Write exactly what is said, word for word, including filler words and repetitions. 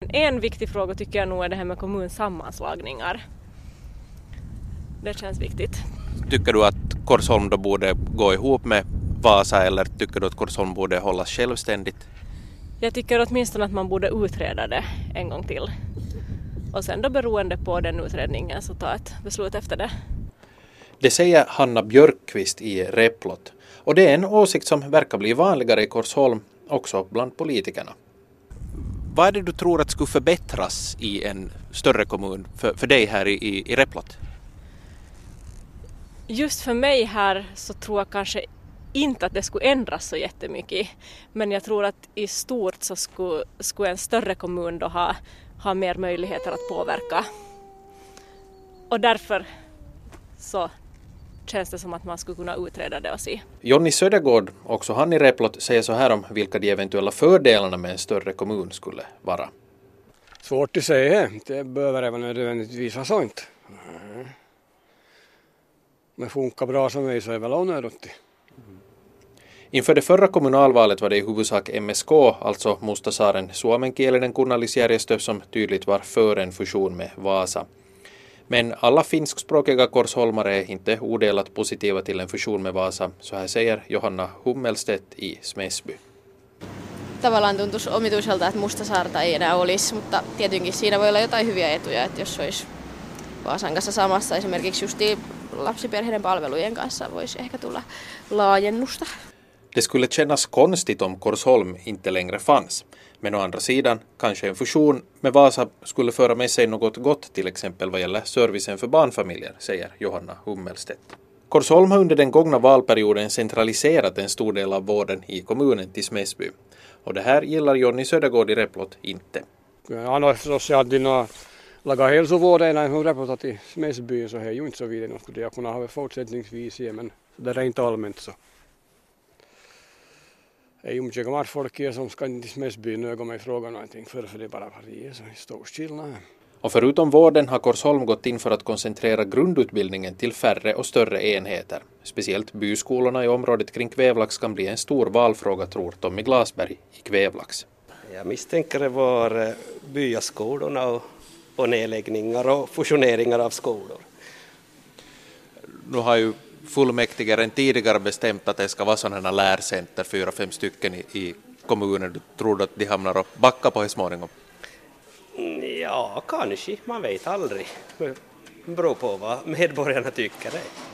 en viktig fråga tycker jag nog är det här med kommunsammanslagningar. Det känns viktigt. Tycker du att Korsholm då borde gå ihop med Vasa eller tycker du att Korsholm borde hållas självständigt? Jag tycker åtminstone att man borde utreda det en gång till. Och sen då beroende på den utredningen så ta ett beslut efter det. Det säger Hanna Björkqvist i Replot. Och det är en åsikt som verkar bli vanligare i Korsholm också bland politikerna. Vad är det du tror att skulle förbättras i en större kommun för, för dig här i, i, i Replot? Just för mig här så tror jag kanske inte att det skulle ändras så jättemycket. Men jag tror att i stort så skulle, skulle en större kommun då ha, ha mer möjligheter att påverka. Och därför så känns det som att man skulle kunna utreda det och se. Jonny Södergård, också han i Replot, säger så här om vilka de eventuella fördelarna med en större kommun skulle vara. Svårt att säga. Det behöver även nödvändigtvis vara sånt. Men funkar bra som mig så är väl onödigt. Inför det förra kommunalvalet var det i huvudsak M S K, alltså Mustasaaren suomenkielinen kunnallisjärjestö, som tydligt var för en fusion med Vasa. Men alla finskspråkiga korsholmare är inte odelat positiva till en fusion med Vasa, så här säger Johanna Hummelstedt i Smedsby. Tavallaan tuntuisi omituiselta, että Mustasaarta ei enää olisi, mutta tietenkin siinä voi olla jotain hyviä etuja, että jos olisi Vaasan kanssa samassa, esimerkiksi justiin lapsiperheiden palvelujen kanssa voisi ehkä tulla laajennusta. Det skulle kännas konstigt om Korsholm inte längre fanns. Men å andra sidan, kanske en fusion med Vasa skulle föra med sig något gott, till exempel vad gäller servicen för barnfamiljer, säger Johanna Hummelstedt. Korsholm har under den gångna valperioden centraliserat en stor del av vården i kommunen till Smedsby. Och det här gillar Jonny Södergård i Replot inte. Han har sosiaalinen laga hälsovården från Replot till Smedsby så är ju inte så vidare. Något skulle jag kunna ha fortsättningsvis, men det är inte allmänt så. Ei ju mycket gammal folk som ska till Smedsby nöga mig fråga någonting för det är bara partier så stor skillnad. Och förutom vården har Korsholm gått in för att koncentrera grundutbildningen till färre och större enheter. Speciellt byskolorna i området kring Kvävlax kan bli en stor valfråga, tror Tommy Glasberg i Kvävlax. Jag misstänker det var byaskolorna och, och nedläggningar och fusioneringar av skolor. Nu har ju fullmäktige redan tidigare bestämt att det ska vara sådana lärcenter, fyra, fem stycken i, i kommunen. Du tror att de hamnar och backar på i småningom? Ja, kanske. Man vet aldrig. Det beror på vad medborgarna tycker det.